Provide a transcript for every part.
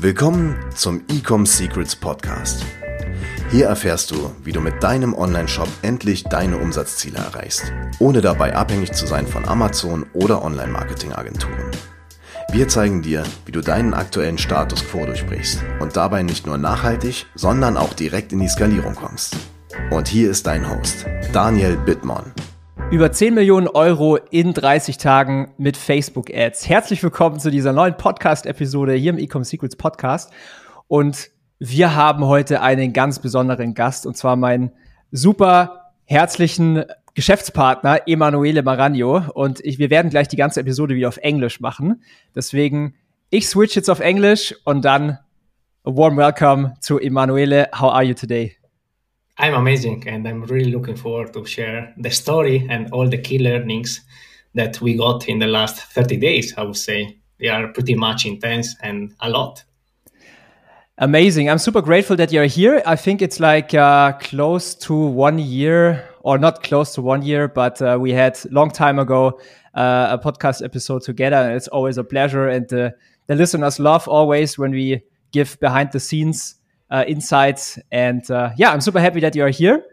Willkommen zum Ecom Secrets Podcast. Hier erfährst du, wie du mit deinem Online-Shop endlich deine Umsatzziele erreichst, ohne dabei abhängig zu sein von Amazon oder Online-Marketing-Agenturen. Wir zeigen dir, wie du deinen aktuellen Status quo durchbrichst und dabei nicht nur nachhaltig, sondern auch direkt in die Skalierung kommst. Und hier ist dein Host, Daniel Bittmann. Über 10 Millionen Euro in 30 Tagen mit Facebook-Ads. Herzlich willkommen zu dieser neuen Podcast-Episode hier im Ecom Secrets Podcast. Und wir haben heute einen ganz besonderen Gast, und zwar meinen super herzlichen Geschäftspartner Emanuele Maragno. Und wir werden gleich die ganze Episode wieder auf Englisch machen. Deswegen, ich switch jetzt auf Englisch und dann a warm welcome to Emanuele. How are you today? I'm amazing, and I'm really looking forward to share the story and all the key learnings that we got in the last 30 days, I would say. They are pretty much intense and a lot. Amazing. I'm super grateful that you're here. I think it's like close to 1 year, or not close to 1 year, but we had long time ago a podcast episode together, and it's always a pleasure. And the listeners love always when we give behind the scenes insights. And I'm super happy that you're here.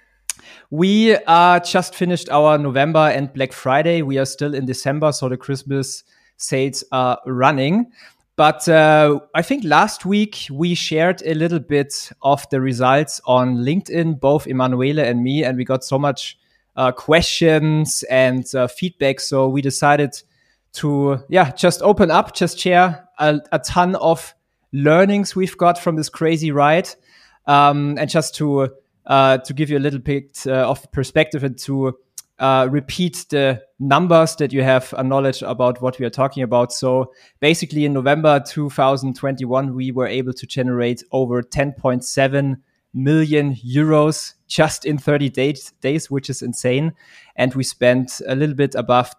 We just finished our November and Black Friday. We are still in December, so the Christmas sales are running. But I think last week we shared a little bit of the results on LinkedIn, both Emanuele and me, and we got so much questions and feedback. So we decided to just open up, just share a ton of learnings we've got from this crazy ride, and just to give you a little bit of perspective and to repeat the numbers that you have a knowledge about what we are talking about. So basically in November 2021, we were able to generate over 10.7 million euros just in 30 days, which is insane. And we spent a little bit above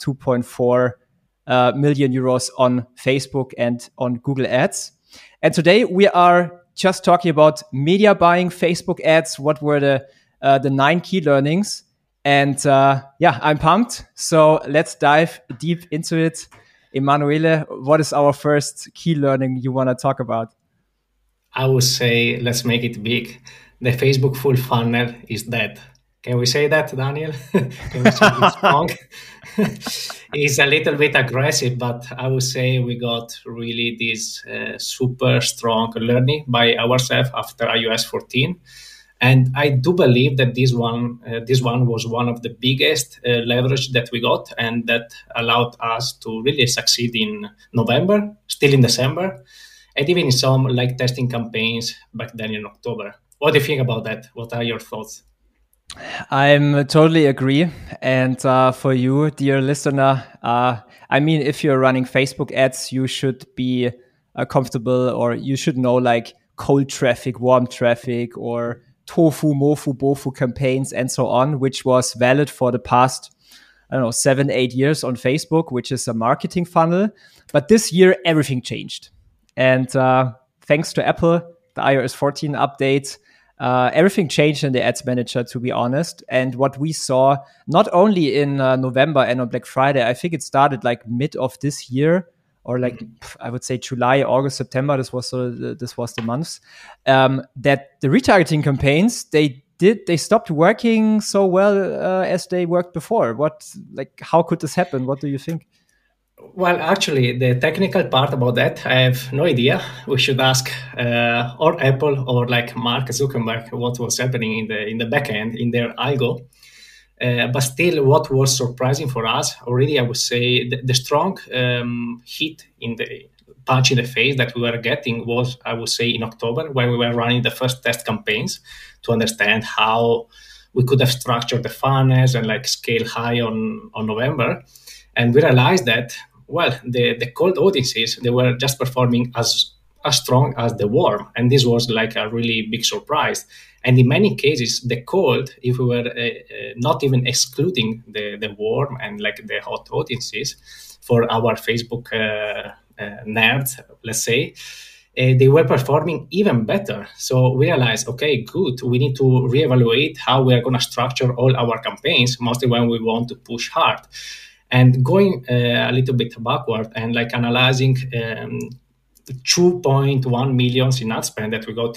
2.4 million euros on Facebook and on Google Ads. And today we are just talking about media buying, Facebook ads. What were the 9 key learnings? And I'm pumped. So let's dive deep into it. Emanuele, what is our first key learning you want to talk about? I would say, let's make it big. The Facebook full funnel is dead. Can we say that, Daniel? Can we say it's wrong? It's a little bit aggressive, but I would say we got really this super strong learning by ourselves after iOS 14. And I do believe that this one was one of the biggest leverage that we got, and that allowed us to really succeed in November, still in December, and even in some like testing campaigns back then in October. What do you think about that? What are your thoughts? I'm totally agree. And for you, dear listener, if you're running Facebook ads, you should be comfortable, or you should know like cold traffic, warm traffic, or tofu, mofu, bofu campaigns, and so on, which was valid for the past, 7-8 years on Facebook, which is a marketing funnel. But this year, everything changed. And thanks to Apple, the iOS 14 update, everything changed in the Ads Manager, to be honest. And what we saw, not only in November and on Black Friday, I think it started like mid of this year, or like I would say July, August, September. This was the months that the retargeting campaigns they stopped working so well as they worked before. How could this happen? What do you think? Well, actually, the technical part about that, I have no idea. We should ask or Apple or like Mark Zuckerberg what was happening in the back end in their algo. But still, what was surprising for us already, I would say, the strong hit in the punch in the face that we were getting was, I would say, in October, when we were running the first test campaigns to understand how we could have structured the funnels and like scale high on November. And we realized that, well, the cold audiences, they were just performing as strong as the warm. And this was like a really big surprise. And in many cases, the cold, if we were not even excluding the warm and like the hot audiences for our Facebook nerds, let's say, they were performing even better. So we realized, okay, good. We need to reevaluate how we are going to structure all our campaigns, mostly when we want to push hard. And going a little bit backward and like analyzing 2.1 millions in ad spend that we got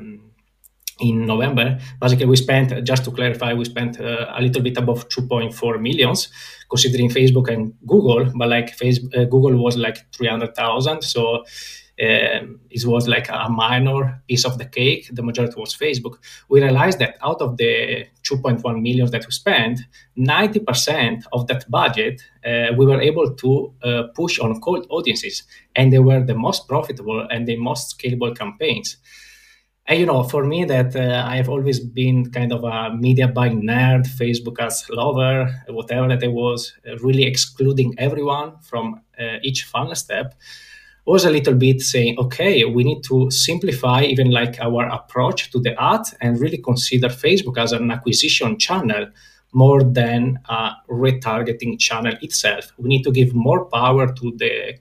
in November. Basically, we spent, just to clarify, we spent a little bit above 2.4 millions, considering Facebook and Google, but like Google was like 300,000. So it was like a minor piece of the cake. The majority was Facebook. We realized that out of the 2.1 millions that we spent, 90% of that budget, we were able to push on cold audiences. And they were the most profitable and the most scalable campaigns. And for me, that I have always been kind of a media buying nerd, Facebook ads lover, whatever that I was, really excluding everyone from each funnel step, was a little bit saying, okay, we need to simplify even like our approach to the ad and really consider Facebook as an acquisition channel more than a retargeting channel itself. We need to give more power to the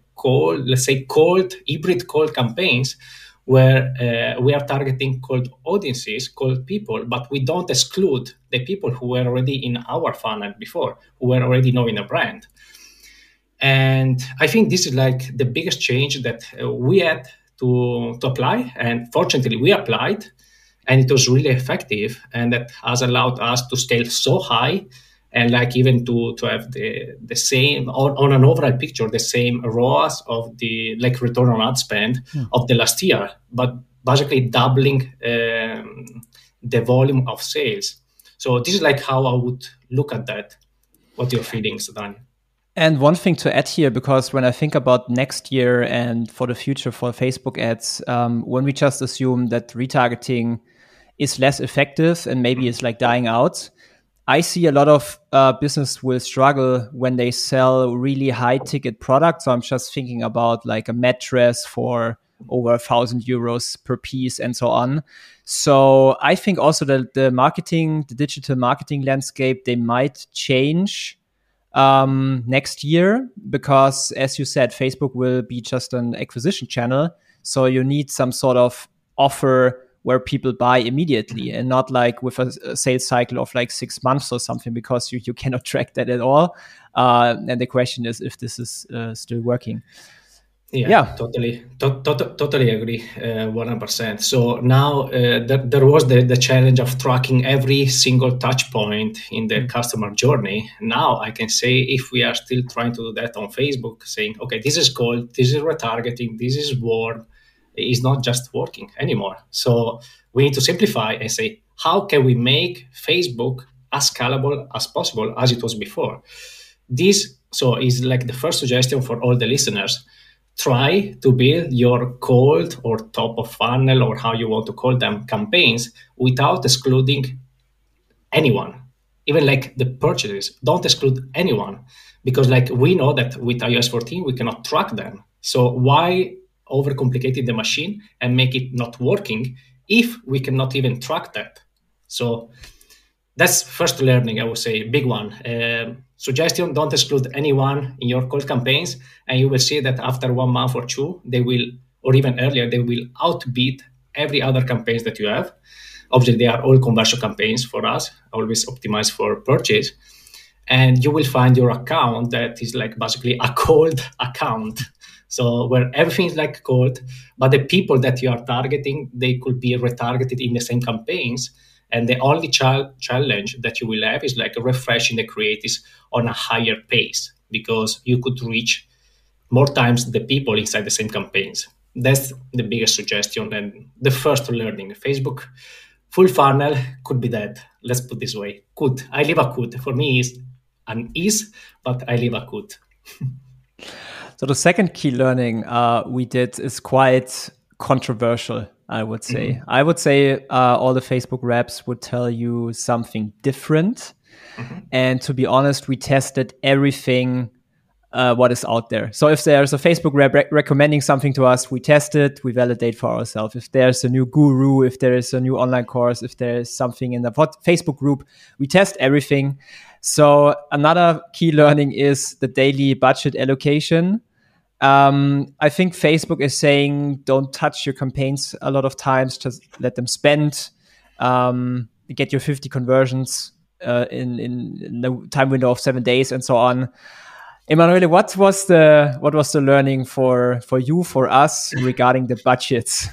hybrid cold campaigns, where we are targeting cold audiences, cold people, but we don't exclude the people who were already in our funnel before, who were already knowing the brand. And I think this is like the biggest change that we had to apply. And fortunately, we applied, and it was really effective. And that has allowed us to scale so high, and like even to have the same on an overall picture, the same ROAS of the like return on ad spend of the last year, but basically doubling the volume of sales. So this is like how I would look at that. What are your feelings, Daniel? And one thing to add here, because when I think about next year and for the future for Facebook ads, when we just assume that retargeting is less effective and maybe it's like dying out, I see a lot of business will struggle when they sell really high ticket products. So I'm just thinking about like a mattress for over 1,000 euros per piece and so on. So I think also that the digital marketing landscape, they might change next year, because as you said, Facebook will be just an acquisition channel. So you need some sort of offer where people buy immediately and not like with a sales cycle of like 6 months or something, because you cannot track that at all. And the question is if this is still working. Yeah. Totally agree, 100%. So now there was the challenge of tracking every single touch point in the customer journey. Now I can say, if we are still trying to do that on Facebook, saying, okay, this is cold, this is retargeting, this is warm, is not just working anymore. So we need to simplify and say, how can we make Facebook as scalable as possible as it was before? This is like the first suggestion for all the listeners. Try to build your cold or top of funnel, or how you want to call them, campaigns without excluding anyone, even like the purchases. Don't exclude anyone, because like we know that with iOS 14, we cannot track them. So why overcomplicate the machine and make it not working if we cannot even track that? So that's first learning, I would say, big one. Suggestion, don't exclude anyone in your cold campaigns, and you will see that after 1 month or two, they will, or even earlier, they will outbid every other campaigns that you have. Obviously, they are all conversion campaigns for us, always optimized for purchase. And you will find your account that is like basically a cold account. So where everything is like cold, but the people that you are targeting, they could be retargeted in the same campaigns. And the only challenge that you will have is like refreshing the creatives on a higher pace, because you could reach more times the people inside the same campaigns. That's the biggest suggestion and the first learning. Facebook full funnel could be that. Let's put this way. Could. I leave a could. For me, is an is, but I leave a could. So the second key learning we did is quite controversial, I would say. Mm-hmm. I would say all the Facebook reps would tell you something different. Mm-hmm. And to be honest, we tested everything what is out there. So if there's a Facebook rep recommending something to us, we test it, we validate for ourselves. If there's a new guru, if there is a new online course, if there is something in the Facebook group, we test everything. So another key learning is the daily budget allocation. I think Facebook is saying don't touch your campaigns a lot of times, just let them spend, get your 50 conversions in the time window of 7 days and so on. Emanuele, what was the learning for you, for us, regarding the budgets?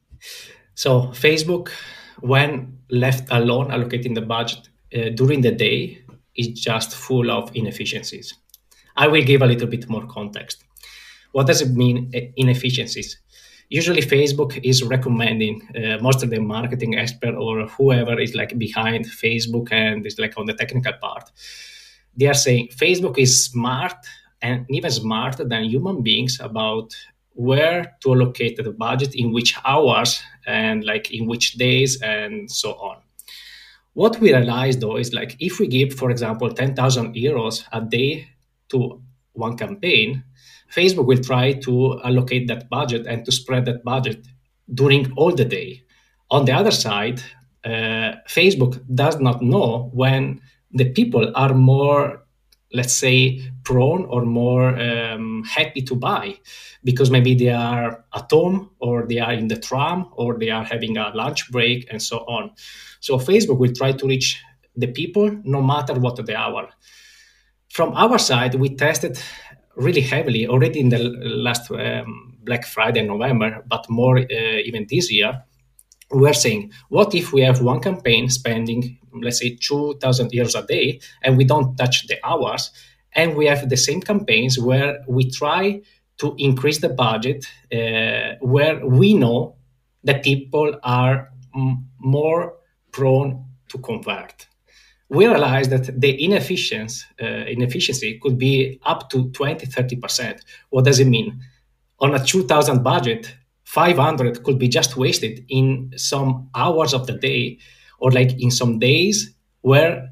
So Facebook, when left alone allocating the budget during the day, is just full of inefficiencies. I will give a little bit more context. What does it mean, inefficiencies? Usually Facebook is recommending, most of the marketing expert or whoever is like behind Facebook and is like on the technical part, they are saying Facebook is smart and even smarter than human beings about where to allocate the budget, in which hours and like in which days and so on. What we realized though is like if we give, for example, 10,000 euros a day to one campaign, Facebook will try to allocate that budget and to spread that budget during all the day. On the other side, Facebook does not know when the people are more, let's say, prone or more happy to buy, because maybe they are at home or they are in the tram or they are having a lunch break and so on. So Facebook will try to reach the people no matter what the hour. From our side, we tested really heavily already in the last Black Friday in November, but more even this year. We're saying, what if we have one campaign spending, let's say, 2,000 euros a day, and we don't touch the hours, and we have the same campaigns where we try to increase the budget, where we know that people are more prone to convert. We realized that the inefficiency could be up to 20-30%. What does it mean? On a 2,000 budget, 500 could be just wasted in some hours of the day, or like in some days where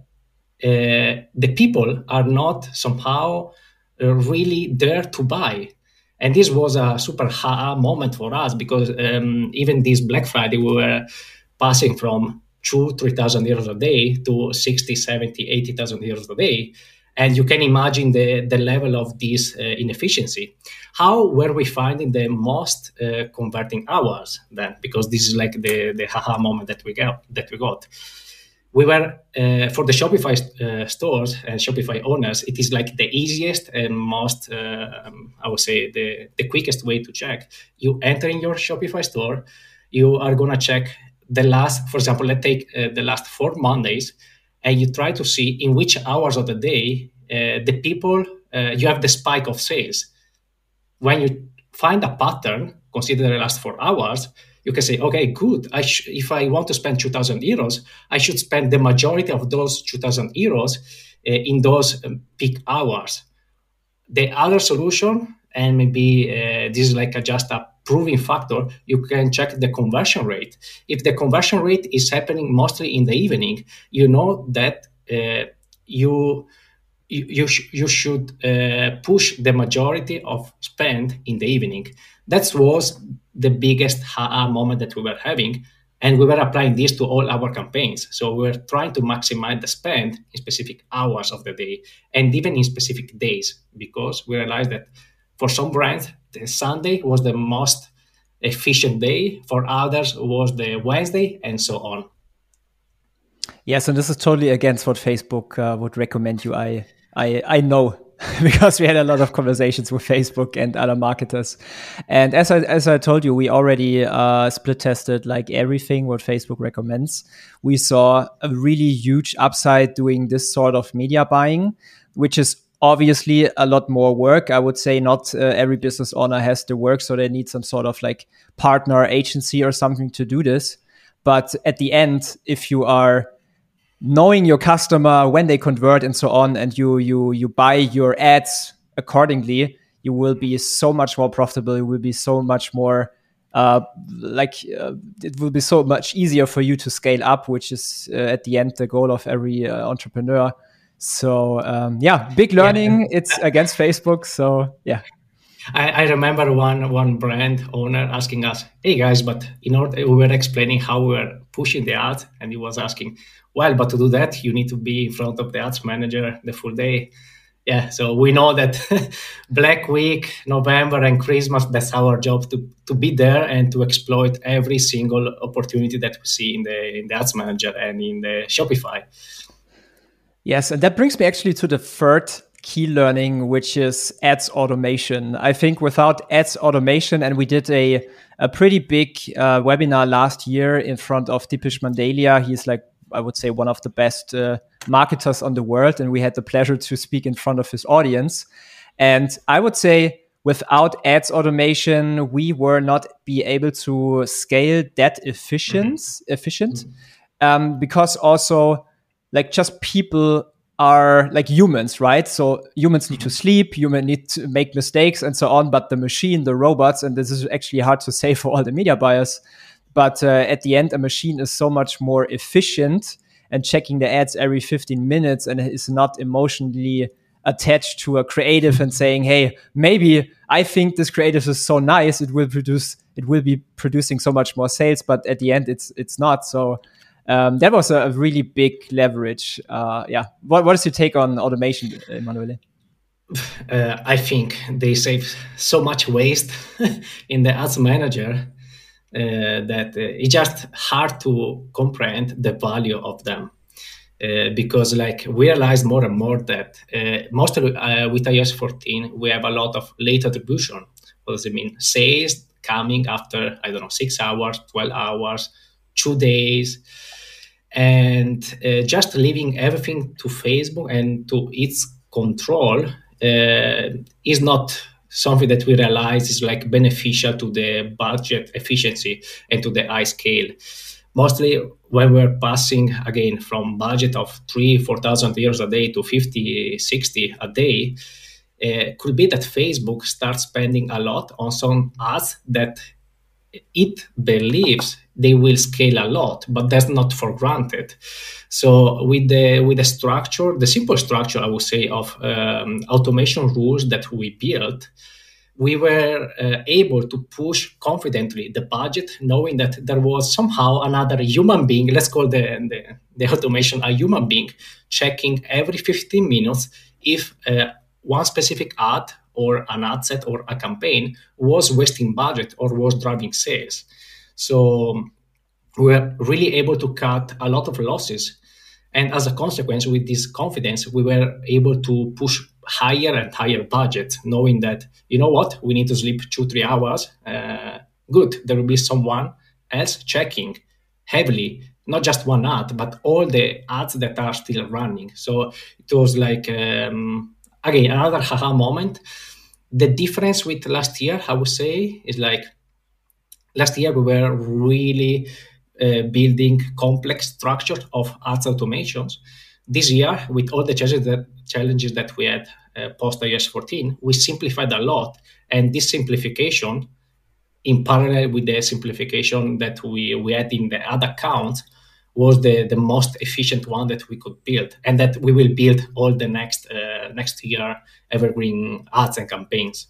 the people are not somehow really there to buy. And this was a super moment for us, because even this Black Friday, we were passing from 3,000 euros a day to 60, 70, 80,000 euros a day. And you can imagine the level of this inefficiency. How were we finding the most converting hours then? Because this is like the haha moment that we got. We were, for the Shopify stores and Shopify owners, it is like the easiest and most, I would say, the quickest way to check. You enter in your Shopify store, you are going to check the last, for example, let's take the last 4 Mondays, and you try to see in which hours of the day the people, you have the spike of sales. When you find a pattern, consider the last 4 hours, you can say, okay, good. If I want to spend 2,000 euros, I should spend the majority of those 2,000 euros in those peak hours. The other solution, and maybe this is like just a proving factor, you can check the conversion rate. If the conversion rate is happening mostly in the evening, you know that you should push the majority of spend in the evening. That was the biggest moment that we were having, and we were applying this to all our campaigns. So we were trying to maximize the spend in specific hours of the day and even in specific days, because we realized that for some brands, the Sunday was the most efficient day. For others, was the Wednesday, and so on. Yes, and this is totally against what Facebook would recommend you. I know, because we had a lot of conversations with Facebook and other marketers. And as I told you, we already split tested like everything what Facebook recommends. We saw a really huge upside doing this sort of media buying, which is obviously a lot more work. I would say not every business owner has the work, so they need some sort of like partner agency or something to do this. But at the end, if you are knowing your customer, when they convert and so on, and you buy your ads accordingly, you will be so much more profitable. You will be so much more it will be so much easier for you to scale up, which is at the end the goal of every entrepreneur. So big learning. Yeah. It's against Facebook. So yeah. I remember one brand owner asking us, "Hey guys, but in order," we were explaining how we were pushing the ads, and he was asking, "Well, but to do that, you need to be in front of the ads manager the full day." Yeah, so we know that Black Week, November, and Christmas, that's our job to be there and to exploit every single opportunity that we see in the ads manager and in the Shopify. Yes, and that brings me actually to the third key learning, which is ads automation. I think without ads automation, and we did a pretty big webinar last year in front of Dipesh Mandalia. He's like, I would say, one of the best marketers on the world. And we had the pleasure to speak in front of his audience. And I would say without ads automation, we were not be able to scale that efficient. Because also like just people are like humans, right? So humans need to sleep, humans need to make mistakes and so on, but the machine, the robots, and this is actually hard to say for all the media buyers, but at the end, a machine is so much more efficient and checking the ads every 15 minutes and is not emotionally attached to a creative and saying, hey, maybe I think this creative is so nice, it will be producing so much more sales, but at the end, it's not. So that was a really big leverage. What is your take on automation, Emanuele? I think they save so much waste in the ads manager that it's just hard to comprehend the value of them. Because like we realize more and more that mostly with iOS 14, we have a lot of late attribution. What does it mean? Sales coming after, 6 hours, 12 hours, 2 days. And just leaving everything to Facebook and to its control is not something that we realize is like beneficial to the budget efficiency and to the high scale. Mostly when we're passing again from budget of 3,000-4,000 euros a day to 50-60 a day, could be that Facebook starts spending a lot on some ads that it believes they will scale a lot, but that's not for granted. So with the structure, the simple structure, I would say, of automation rules that we built, we were able to push confidently the budget, knowing that there was somehow another human being, let's call the automation a human being, checking every 15 minutes if one specific ad or an ad set or a campaign was wasting budget or was driving sales. So we were really able to cut a lot of losses. And as a consequence, with this confidence, we were able to push higher and higher budget, knowing that, you know what, we need to sleep 2-3 hours. Good, there will be someone else checking heavily, not just one ad, but all the ads that are still running. So it was like, again, another haha moment. The difference with last year, I would say, is like last year we were really building complex structure of ads automations. This year, with all the challenges that we had post iOS 14, we simplified a lot. And this simplification, in parallel with the simplification that we had in the ad accounts, was the most efficient one that we could build, and that we will build all the next year evergreen ads and campaigns.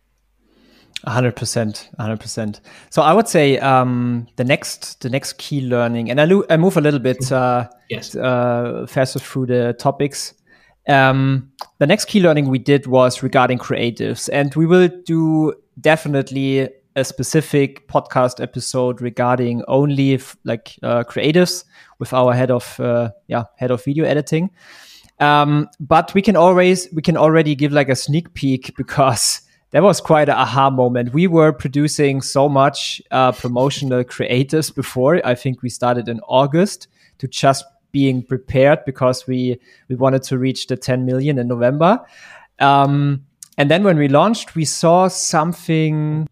100%. So I would say the next key learning, and I move a little bit faster through the topics. The next key learning we did was regarding creatives, and we will do definitely a specific podcast episode regarding only creatives with our head of video editing. But we can already give like a sneak peek, because that was quite an aha moment. We were producing so much promotional creatives before. I think we started in August to just being prepared, because we wanted to reach the 10 million in November. And then when we launched, we saw something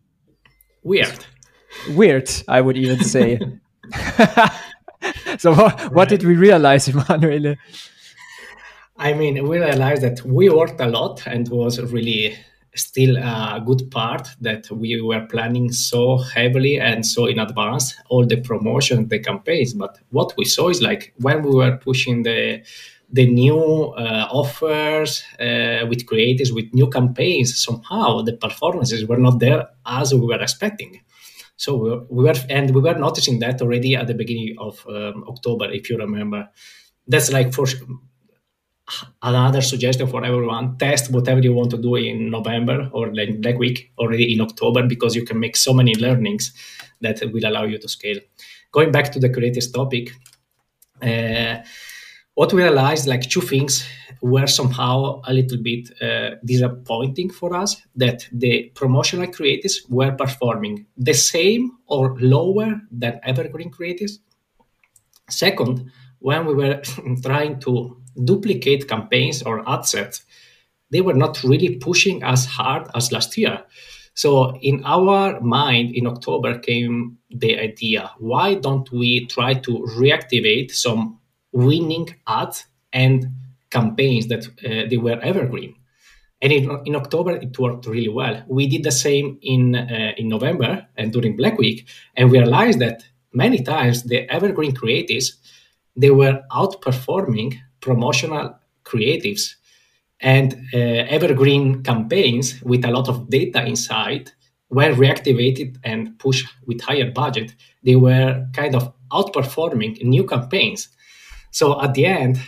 weird, I would even say. So what did we realize, Emanuele? I mean, we realized that we worked a lot, and was really still a good part that we were planning so heavily and so in advance, all the promotion, the campaigns. But what we saw is like when we were pushing the new offers with creators, with new campaigns, somehow the performances were not there as we were expecting. So we were noticing that already at the beginning of October, if you remember. That's like for another suggestion for everyone: test whatever you want to do in November or like Black Week already in October, because you can make so many learnings that will allow you to scale. Going back to the creators topic, what we realized, like two things were somehow a little bit disappointing for us, that the promotional creatives were performing the same or lower than evergreen creatives. Second, when we were trying to duplicate campaigns or ad sets, they were not really pushing as hard as last year. So in our mind, in October came the idea, why don't we try to reactivate some winning ads and campaigns that they were evergreen? And in October, it worked really well. We did the same in November and during Black Week, and we realized that many times the evergreen creatives, they were outperforming promotional creatives, and evergreen campaigns with a lot of data inside were reactivated and pushed with higher budget. They were kind of outperforming new campaigns. So at the end,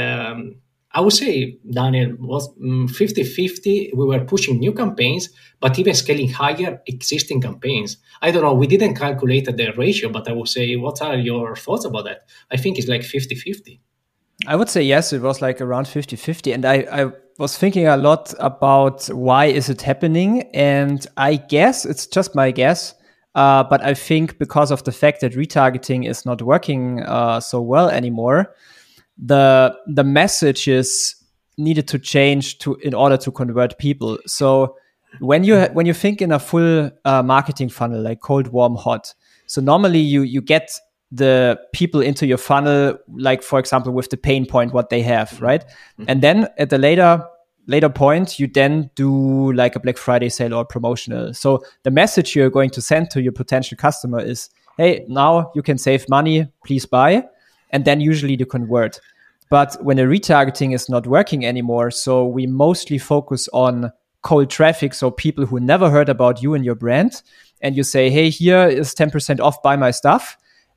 I would say, Daniel, was 50-50. We were pushing new campaigns, but even scaling higher existing campaigns. I don't know, we didn't calculate the ratio, but I would say, what are your thoughts about that? I think it's like 50-50. I would say yes, it was like around 50-50. And I was thinking a lot about why is it happening. And I guess, it's just my guess, but I think because of the fact that retargeting is not working so well anymore, the messages needed to change in order to convert people. So when you think in a full marketing funnel, like cold, warm, hot, so normally you get the people into your funnel, like for example with the pain point what they have, right? Mm-hmm. And then at the later point, you then do like a Black Friday sale or promotional. So the message you're going to send to your potential customer is, hey, now you can save money, please buy. And then usually to convert. But when a retargeting is not working anymore, so we mostly focus on cold traffic, so people who never heard about you and your brand, and you say, hey, here is 10% off, buy my stuff.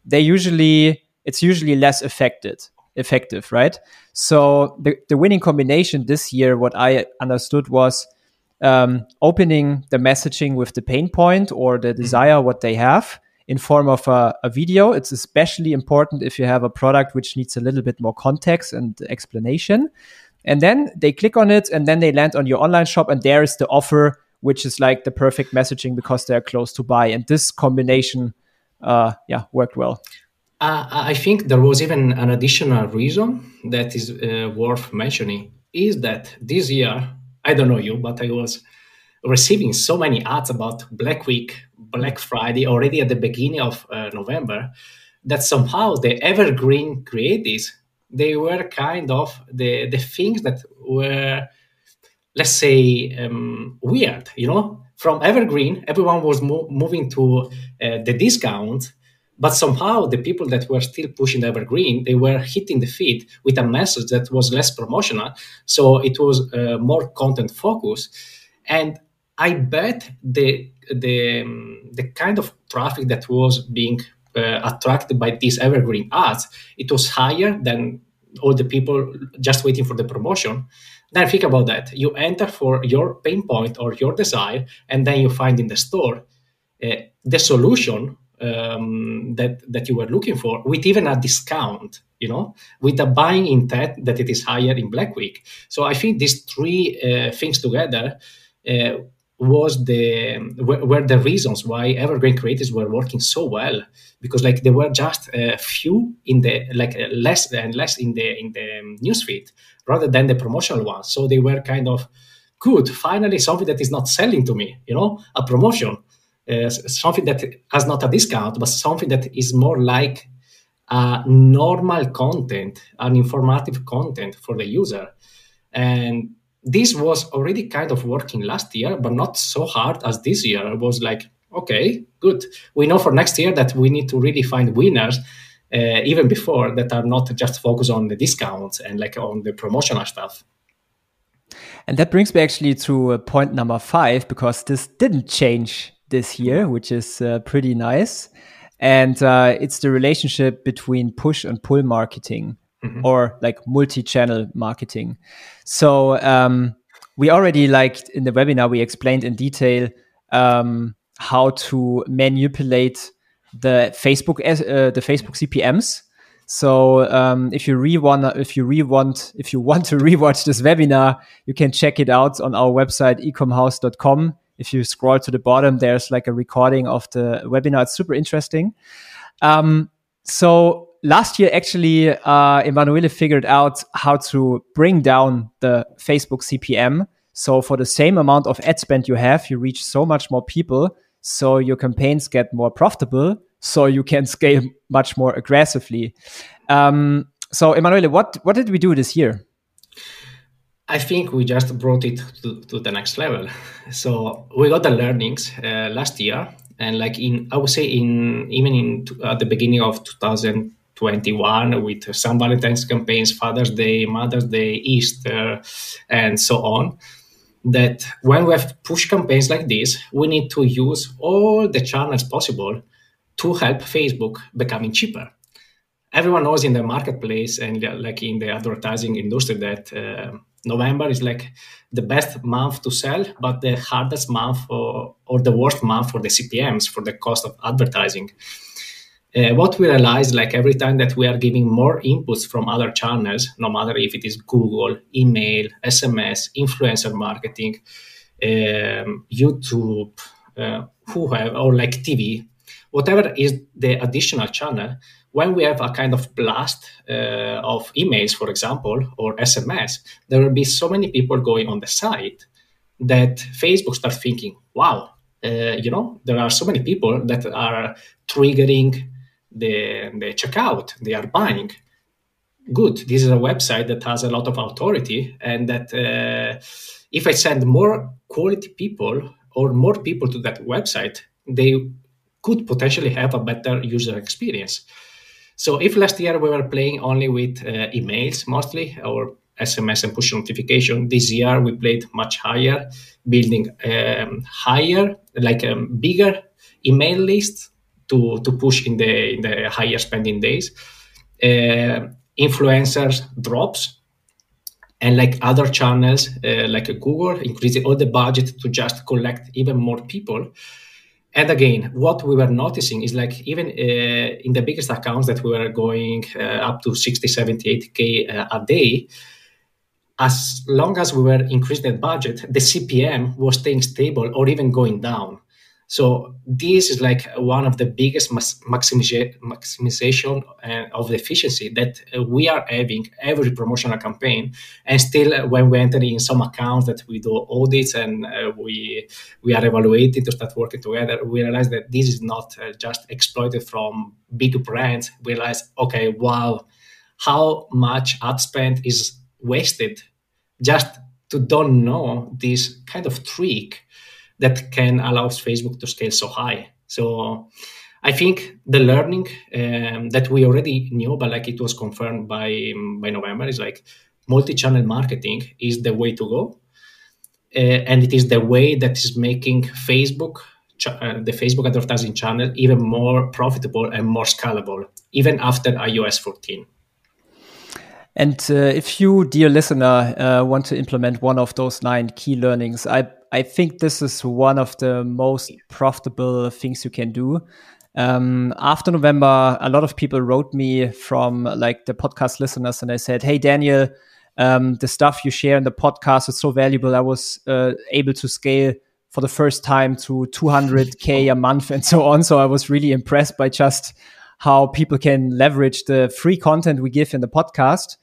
It's usually less effective, right? So the winning combination this year, what I understood was opening the messaging with the pain point or the desire, what they have, in form of a video. It's especially important if you have a product which needs a little bit more context and explanation. And then they click on it and then they land on your online shop and there is the offer, which is like the perfect messaging because they're close to buy. And this combination, worked well. I think there was even an additional reason that is worth mentioning, is that this year, I don't know you, but I was receiving so many ads about Black Week, Black Friday already at the beginning of November, that somehow the evergreen creatives, they were kind of the things that were, let's say, weird, From evergreen, everyone was moving to the discount, but somehow the people that were still pushing the evergreen, they were hitting the feed with a message that was less promotional. So it was more content focused. And I bet the kind of traffic that was being attracted by these evergreen ads, it was higher than all the people just waiting for the promotion. Then think about that. You enter for your pain point or your desire, and then you find in the store the solution that you were looking for, with even a discount, with a buying intent that it is higher in Black Week. So I think these three things together were the reasons why evergreen creatives were working so well, because like there were just a few in the less and less in the newsfeed rather than the promotional ones. So they were kind of good. Finally, something that is not selling to me, a promotion, something that has not a discount, but something that is more like normal content, an informative content for the user. And this was already kind of working last year, but not so hard as this year. It was like, okay, good. We know for next year that we need to really find winners, even before, that are not just focused on the discounts and like on the promotional stuff. And that brings me actually to point number 5, because this didn't change this year, which is pretty nice. And it's the relationship between push and pull marketing. Mm-hmm. Or like multi-channel marketing. So we already, like in the webinar, we explained in detail how to manipulate the Facebook CPMs. So if you want to rewatch this webinar, you can check it out on our website ecomhouse.com. If you scroll to the bottom, there's like a recording of the webinar. It's super interesting. So last year, actually, Emanuele figured out how to bring down the Facebook CPM. So for the same amount of ad spend you have, you reach so much more people. So your campaigns get more profitable. So you can scale much more aggressively. So Emanuele, what did we do this year? I think we just brought it to the next level. So we got the learnings last year, and like at the beginning of 2021, with some Valentine's campaigns, Father's Day, Mother's Day, Easter, and so on, that when we have push campaigns like this, we need to use all the channels possible to help Facebook becoming cheaper. Everyone knows in the marketplace and like in the advertising industry that November is like the best month to sell, but the hardest month or the worst month for the CPMs, for the cost of advertising. What we realize, like every time that we are giving more inputs from other channels, no matter if it is Google, email, SMS, influencer marketing, YouTube, or like TV, whatever is the additional channel, when we have a kind of blast of emails, for example, or SMS, there will be so many people going on the site that Facebook starts thinking, wow, there are so many people that are triggering the checkout, they are buying. Good, this is a website that has a lot of authority, and that if I send more quality people or more people to that website, they could potentially have a better user experience. So if last year we were playing only with emails mostly, or SMS and push notification, this year we played much higher, building bigger email list to push in the higher spending days. Influencers drops, and like other channels like Google increasing all the budget to just collect even more people. And again, what we were noticing is like even in the biggest accounts that we were going up to 60, 70, 80K a day, as long as we were increasing that budget, the CPM was staying stable or even going down. So this is like one of the biggest maximization of the efficiency that we are having every promotional campaign. And still, when we enter in some accounts that we do audits and we are evaluating to start working together, we realize that this is not just exploited from big brands. We realize, okay, wow, how much ad spend is wasted just to don't know this kind of trick that can allow Facebook to scale so high. So I think the learning that we already knew, but like it was confirmed by November, is like multi-channel marketing is the way to go. And it is the way that is making Facebook, the Facebook advertising channel, even more profitable and more scalable, even after iOS 14. And if you, dear listener, want to implement one of those 9 key learnings, I think this is one of the most profitable things you can do. After November, a lot of people wrote me from like the podcast listeners, and they said, "Hey, Daniel, the stuff you share in the podcast is so valuable. I was able to scale for the first time to 200K a month and so on. So I was really impressed by just how people can leverage the free content we give in the podcast.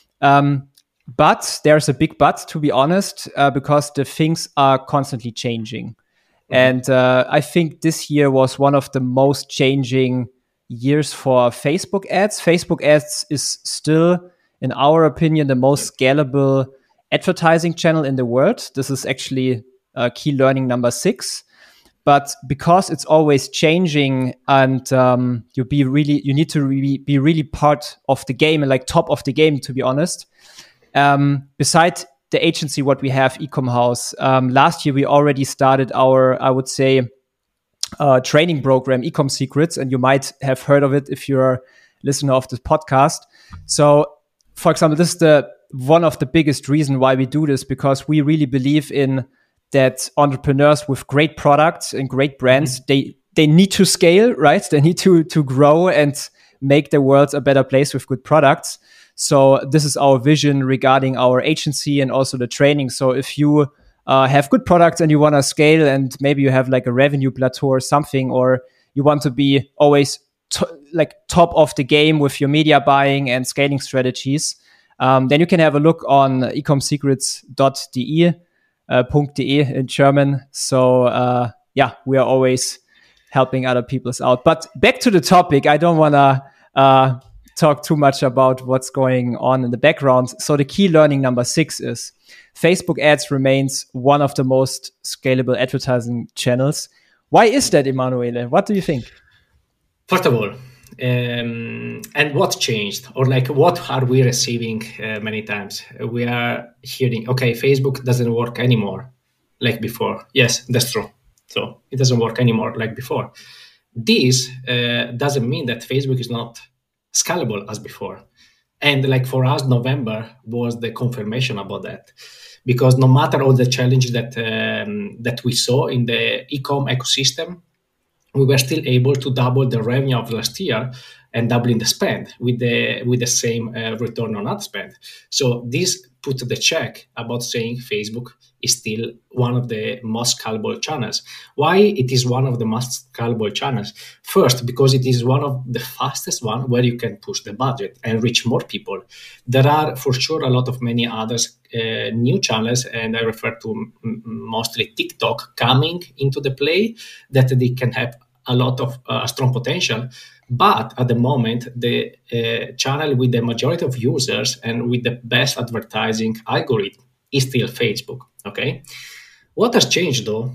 But there's a big but, to be honest, because the things are constantly changing. And I think this year was one of the most changing years for Facebook ads. Facebook ads is still, in our opinion, the most scalable advertising channel in the world. This is actually key learning number 6. But because it's always changing, and you need to be really part of the game and like top of the game, to be honest. Besides the agency, what we have, Ecom House, last year we already started our, I would say, training program, Ecom Secrets, and you might have heard of it if you're a listener of this podcast. So, for example, this is one of the biggest reasons why we do this, because we really believe in that entrepreneurs with great products and great brands, they need to scale, right? They need to grow and make the world a better place with good products. So this is our vision regarding our agency and also the training. So if you have good products and you want to scale, and maybe you have like a revenue plateau or something, or you want to be always top of the game with your media buying and scaling strategies, then you can have a look on ecomsecrets.de, .de in German. So we are always helping other people out. But back to the topic, I don't want to talk too much about what's going on in the background. So the key learning number 6 is Facebook ads remains one of the most scalable advertising channels. Why is that, Emanuele? What do you think? First of all, and what changed, or like what are we receiving many times? We are hearing, okay, Facebook doesn't work anymore like before. Yes, that's true. So it doesn't work anymore like before. This doesn't mean that Facebook is not scalable as before. And like for us, November was the confirmation about that, because no matter all the challenges that we saw in the e-com ecosystem, we were still able to double the revenue of last year and doubling the spend with the same return on ad spend. So this put the check about saying Facebook is still one of the most scalable channels. Why it is one of the most scalable channels? First, because it is one of the fastest one where you can push the budget and reach more people. There are for sure a lot of many others new channels, and I refer to mostly TikTok coming into the play, that they can have a lot of strong potential. But at the moment, the channel with the majority of users and with the best advertising algorithm is still Facebook. Okay, what has changed though,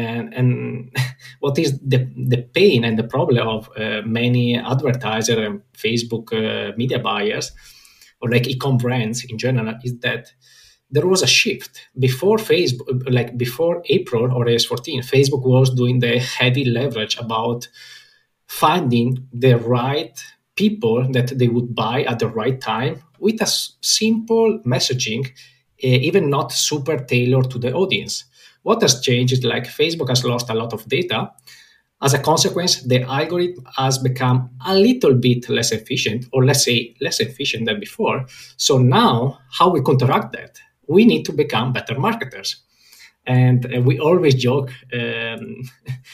and what is the pain and the problem of many advertisers and Facebook media buyers, or like e-com brands in general, is that there was a shift before Facebook, like before April or iOS 14. Facebook was doing the heavy leverage about finding the right people that they would buy at the right time with a simple messaging, even not super tailored to the audience. What has changed is like Facebook has lost a lot of data. As a consequence, the algorithm has become a little bit less efficient, or let's say less efficient than before. So now, how we counteract that? We need to become better marketers. And we always joke, Daniel,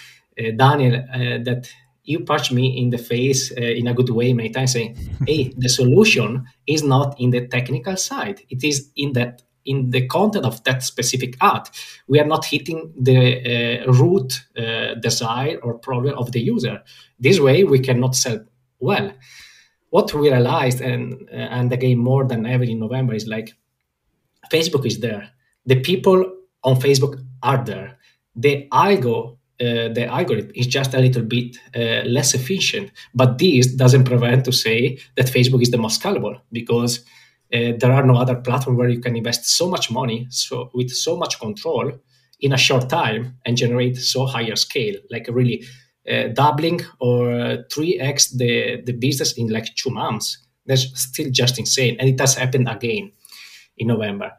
that you punch me in the face in a good way many times, saying, hey, the solution is not in the technical side. It is in the content of that specific ad. We are not hitting the root desire or problem of the user. This way, we cannot sell well. What we realized, and again, more than ever in November, is like, Facebook is there. The people on Facebook are there. The algorithm is just a little bit less efficient. But this doesn't prevent to say that Facebook is the most scalable, because there are no other platform where you can invest so much money, so with so much control in a short time, and generate so higher scale, like really doubling or 3x the business in like 2 months. That's still just insane. And it has happened again in November.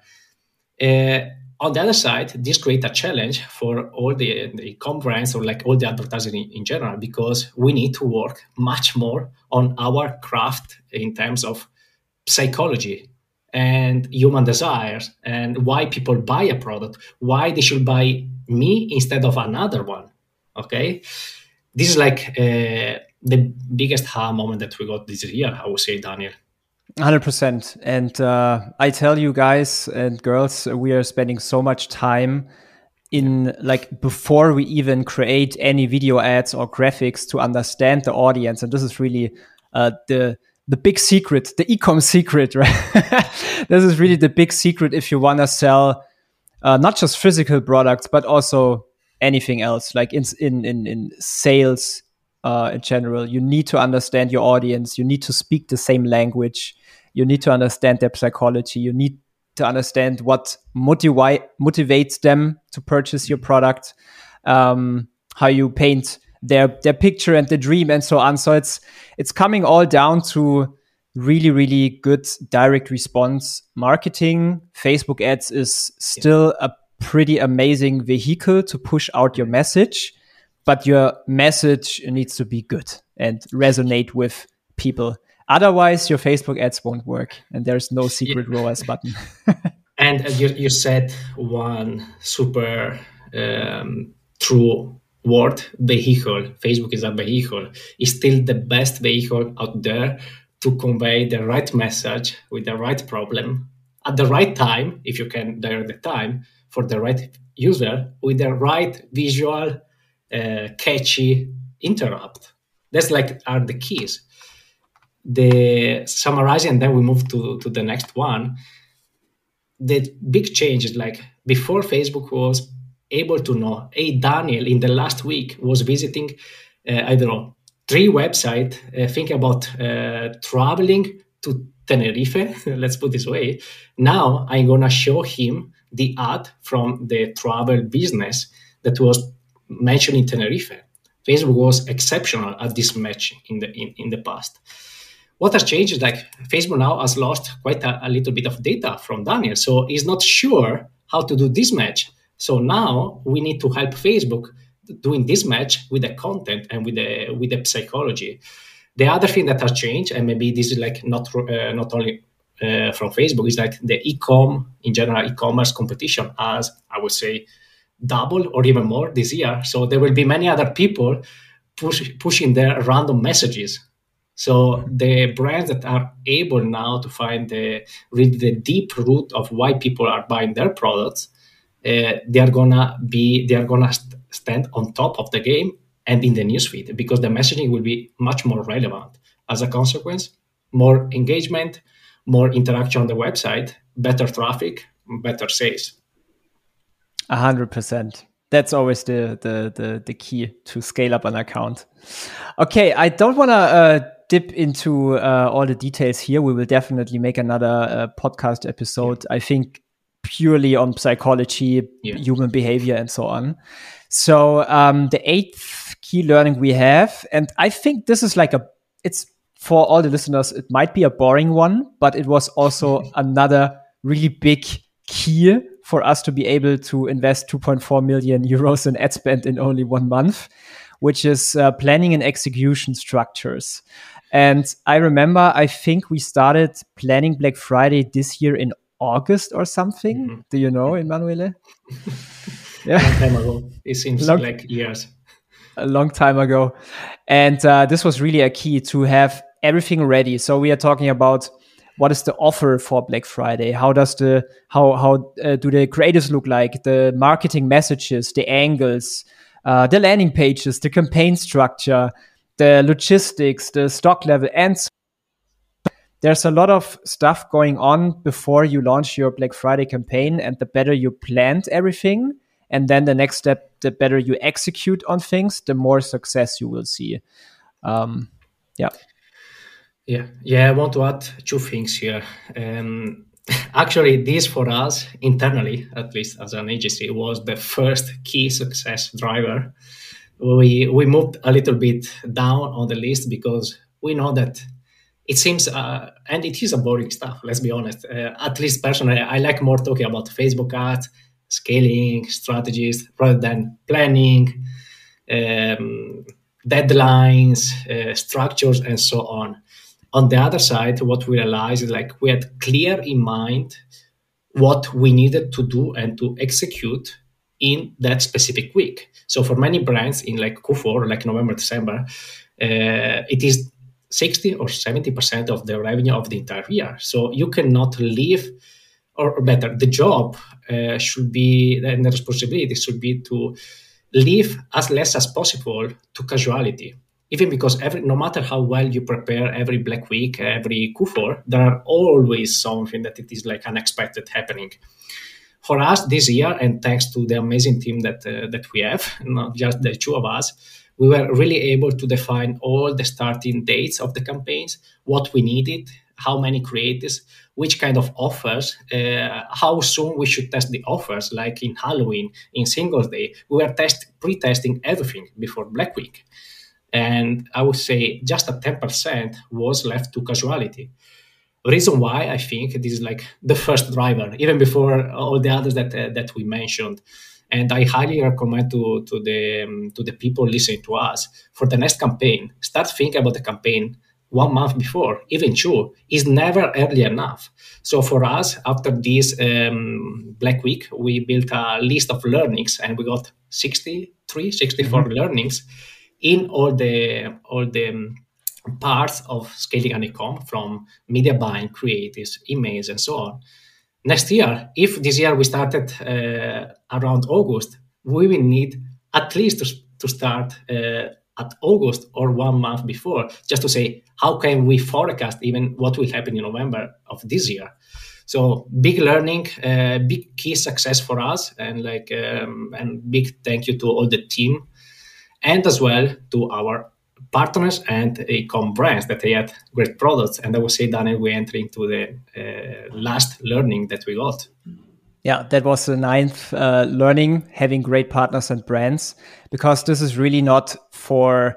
On the other side, this creates a challenge for all the e-com brands, or like all the advertising in general, because we need to work much more on our craft in terms of psychology and human desires, and why people buy a product, why they should buy me instead of another one. Okay, this is like the biggest aha moment that we got this year, I would say, Daniel. 100%. And I tell you guys and girls, we are spending so much time in, like, before we even create any video ads or graphics, to understand the audience. And this is really the big secret, the e-com secret, right? This is really the big secret if you want to sell not just physical products, but also anything else, like in sales in general. You need to understand your audience. You need to speak the same language. You need to understand their psychology. You need to understand what motivates them to purchase your product, how you paint their picture and the dream, and so on. So it's coming all down to really, really good direct response marketing. Facebook ads is still a pretty amazing vehicle to push out your message, but your message needs to be good and resonate with people. Otherwise, your Facebook ads won't work, and there's no secret ROAS button. And you said one super true word, vehicle. Facebook is a vehicle. It's still the best vehicle out there to convey the right message with the right problem at the right time, if you can direct the time, for the right user with the right visual, catchy interrupt. That's are the keys. The summarizing, and then we move to the next one. The big change is before Facebook was able to know, hey, Daniel in the last week was visiting, 3 websites, think about traveling to Tenerife, let's put it this way. Now I'm going to show him the ad from the travel business that was mentioned in Tenerife. Facebook was exceptional at this match in the past. What has changed is Facebook now has lost quite a little bit of data from Daniel. So he's not sure how to do this match. So now we need to help Facebook doing this match with the content and with the psychology. The other thing that has changed, and maybe this is not only from Facebook, is the e-com, in general, e-commerce competition has, I would say, double or even more this year. So there will be many other people pushing their random messages. So the brands that are able now to find the deep root of why people are buying their products, they are gonna stand on top of the game and in the newsfeed, because the messaging will be much more relevant. As a consequence, more engagement, more interaction on the website, better traffic, better sales. 100%. That's always the key to scale up an account. Okay, I don't want to dip into all the details here. We will definitely make another podcast episode, I think, purely on psychology, human behavior, and so on. So the 8th key learning we have, and I think this is it's for all the listeners, it might be a boring one, but it was also another really big key for us to be able to invest 2.4 million euros in ad spend in only 1 month, which is planning and execution structures. And I remember, I think we started planning Black Friday this year in August or something. Mm-hmm. Do you know, Emanuele? Yeah. A long time ago. It seems like years. A long time ago. And this was really a key to have everything ready. So we are talking about what is the offer for Black Friday? How does how do the creatives look like? The marketing messages, the angles, the landing pages, the campaign structure, the logistics, the stock level, and so there's a lot of stuff going on before you launch your Black Friday campaign. And the better you planned everything, and then the next step, the better you execute on things, the more success you will see. Yeah, I want to add 2 things here. Actually, this for us internally, at least as an agency, was the first key success driver. We moved a little bit down on the list because we know that it seems, and it is a boring stuff, let's be honest. At least personally, I like more talking about Facebook ads, scaling, strategies, rather than planning, deadlines, structures, and so on. On the other side, what we realized is we had clear in mind what we needed to do and to execute in that specific week. So for many brands in Q4, November, December, it is 60 or 70% of the revenue of the entire year. So you cannot leave, or better, the job should be, and the responsibility should be to leave as less as possible to casualty. Even because no matter how well you prepare every Black Week, every Q4, there are always something that it is unexpected happening. For us this year, and thanks to the amazing team that we have, not just the 2 of us, we were really able to define all the starting dates of the campaigns, what we needed, how many creatives, which kind of offers, how soon we should test the offers, like in Halloween, in Singles Day. We were pre-testing everything before Black Week. And I would say just a 10% was left to casualty. The reason why I think this is the first driver, even before all the others that we mentioned. And I highly recommend to the people listening to us, for the next campaign, start thinking about the campaign 1 month before, even 2, is never early enough. So for us, after this Black Week, we built a list of learnings, and we got 64 learnings in all the parts of scaling an e-com, from media buying, creatives, emails, and so on. Next year, if this year we started around August, we will need at least to start at August or 1 month before, just to say, how can we forecast even what will happen in November of this year? So big learning, big key success for us, and and big thank you to all the team, and as well to our partners and e-com brands that they had great products. And I would say, Daniel, we enter into the last learning that we got. Yeah, that was the 9th learning, having great partners and brands, because this is really not for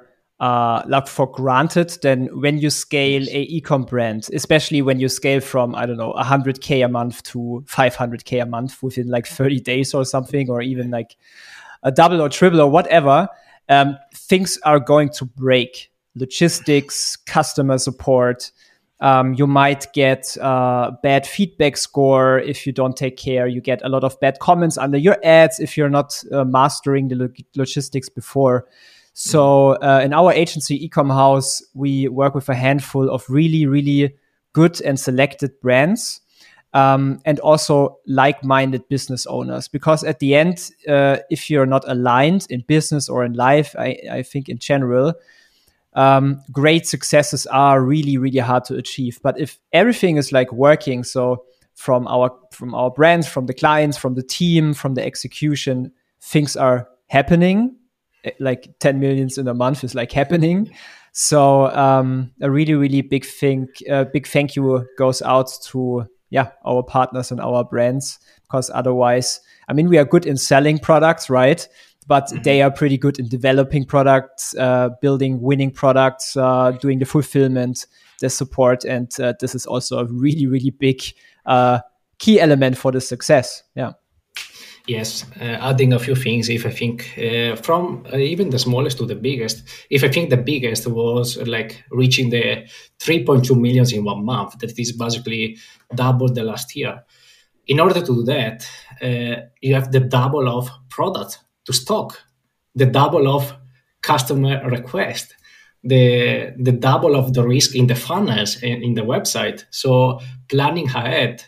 granted. Then when you scale a e-com brand, especially when you scale from, I don't know, 100K a month to 500K a month within like 30 days or something, or even like a double or triple or whatever, things are going to break. Logistics, customer support. You might get a bad feedback score if you don't take care. You get a lot of bad comments under your ads if you're not mastering the logistics before. So in our agency, Ecom House, we work with a handful of really, really good and selected brands, and also like-minded business owners. Because at the end, if you're not aligned in business or in life, I think in general, great successes are really, really hard to achieve. But if everything is like working, so from our brands, from the clients, from the team, from the execution, things are happening. Like 10 millions in a month is like happening. So a really, really big thank you goes out to our partners and our brands, because otherwise, I mean, we are good in selling products, right? But they are pretty good in developing products, building winning products, doing the fulfillment, the support. And this is also a really, really big key element for the success. Yeah. Yes, adding a few things, if I think from even the smallest to the biggest, if I think the biggest was like reaching the 3.2 millions in 1 month, that is basically double the last year. In order to do that, you have the double of product to stock, the double of customer request, the double of the risk in the funnels and in the website. So planning ahead,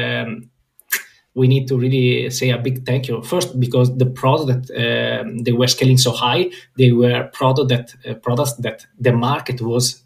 we need to really say a big thank you. First, because the product that they were scaling so high, they were products that the market was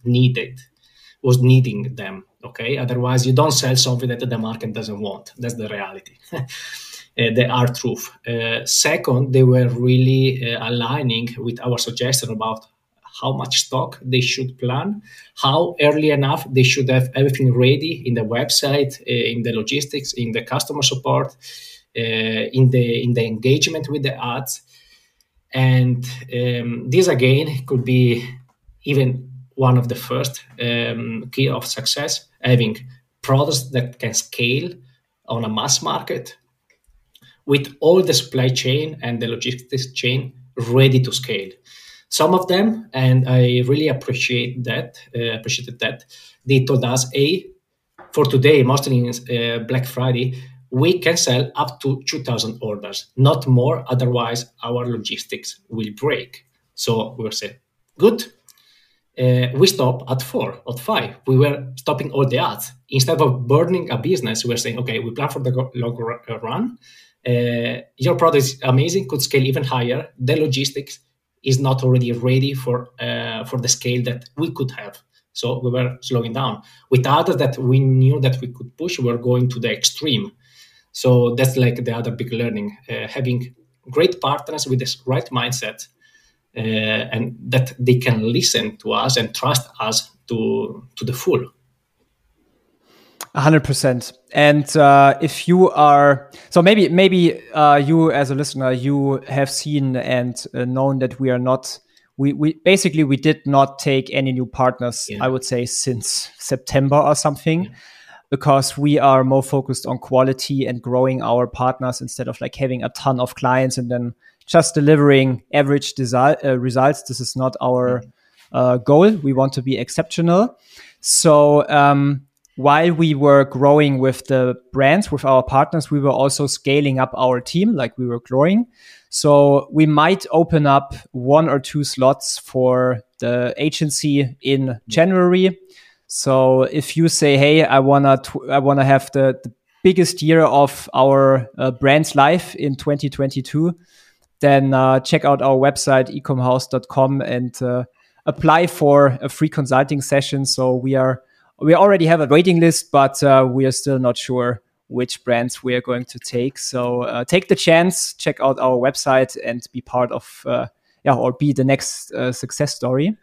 needing them. Okay, otherwise you don't sell something that the market doesn't want. That's the reality. The hard truth. Second, they were really aligning with our suggestion about how much stock they should plan, how early enough they should have everything ready in the website, in the logistics, in the customer support, in the engagement with the ads. And this again could be even one of the first key of success, having products that can scale on a mass market with all the supply chain and the logistics chain ready to scale. Some of them, and I really appreciated that, they told us, for today, mostly in Black Friday, we can sell up to 2,000 orders, not more, otherwise our logistics will break. So we were saying, good. We stop at 4 or 5. We were stopping all the ads. Instead of burning a business, we were saying, okay, we plan for the long run. Your product is amazing, could scale even higher. The logistics is not already ready for the scale that we could have. So we were slowing down. With others that we knew that we could push, we were going to the extreme. So that's like the other big learning, having great partners with this right mindset, and that they can listen to us and trust us to the full. 100%. And if you are, so maybe you as a listener, you have seen and known that we are not, we basically did not take any new partners, I would say, since September or something, because we are more focused on quality and growing our partners instead of like having a ton of clients and then just delivering average results. This is not our goal. We want to be exceptional. So while we were growing with the brands, with our partners, we were also scaling up our team, like we were growing. So we might open up 1 or 2 slots for the agency in January. So if you say, hey, I wanna have the biggest year of our brand's life in 2022, then check out our website, ecomhouse.com, and apply for a free consulting session. So we already have a waiting list, but we are still not sure which brands we are going to take. So take the chance, check out our website, and be part of, or be the next success story.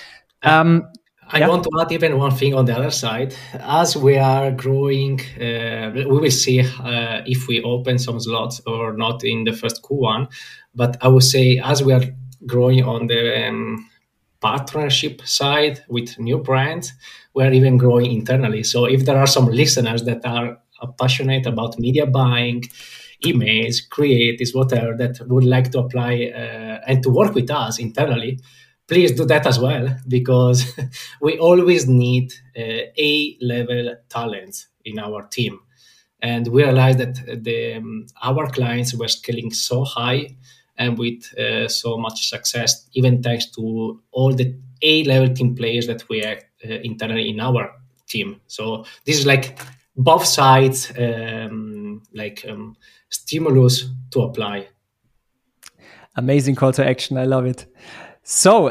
I want to add even one thing on the other side. As we are growing, we will see if we open some slots or not in the first Q1. But I would say as we are growing on the partnership side with new brands, we are even growing internally. So if there are some listeners that are passionate about media buying, emails, creatives, whatever, that would like to apply and to work with us internally, please do that as well, because we always need A-level talents in our team. And we realized that our clients were scaling so high and with so much success, even thanks to all the A-level team players that we have internally in our team. So this is like both sides, stimulus to apply. Amazing call to action. I love it. So,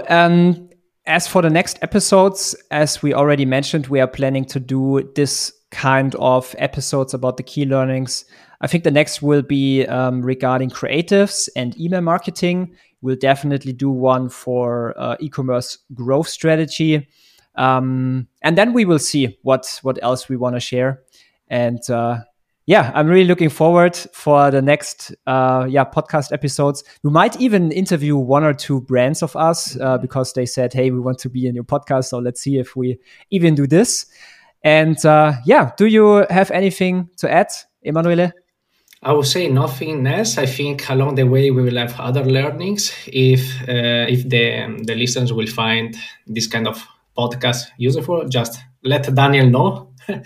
as for the next episodes, as we already mentioned, we are planning to do this kind of episodes about the key learnings. I think the next will be regarding creatives and email marketing. We'll definitely do one for e-commerce growth strategy. And then we will see what else we want to share. And I'm really looking forward for the next podcast episodes. We might even interview 1 or 2 brands of us because they said, hey, we want to be in your podcast. So let's see if we even do this. And do you have anything to add, Emanuele? I would say nothing else. I think along the way we will have other learnings. If the listeners will find this kind of podcast useful, just let Daniel know.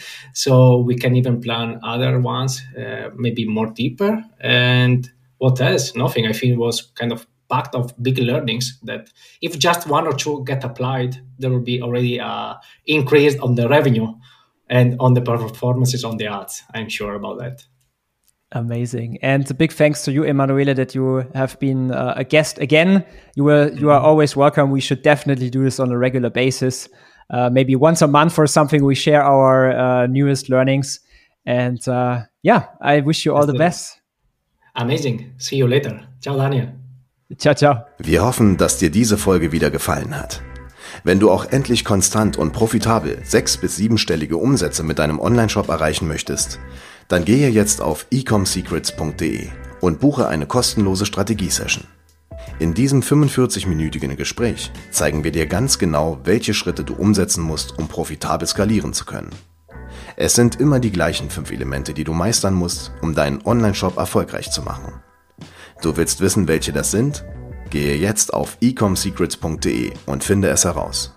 So we can even plan other ones, maybe more deeper. And what else? Nothing. I think it was kind of packed of big learnings that if just 1 or 2 get applied, there will be already increase on the revenue and on the performances on the ads. I'm sure about that. Amazing. And a big thanks to you, Emanuele, that you have been a guest again. You are always welcome. We should definitely do this on a regular basis. Maybe once a month or something, we share our newest learnings. And I wish you all the best. Amazing. See you later. Ciao, Daniel. Ciao, ciao. Wir hoffen, dass dir diese Folge wieder gefallen hat. Wenn du auch endlich konstant und profitabel 6- bis 7-stellige Umsätze mit deinem Onlineshop erreichen möchtest, dann gehe jetzt auf ecomsecrets.de und buche eine kostenlose Strategie-Session. In diesem 45-minütigen Gespräch zeigen wir dir ganz genau, welche Schritte du umsetzen musst, um profitabel skalieren zu können. Es sind immer die gleichen 5 Elemente, die du meistern musst, um deinen Onlineshop erfolgreich zu machen. Du willst wissen, welche das sind? Gehe jetzt auf ecomsecrets.de und finde es heraus.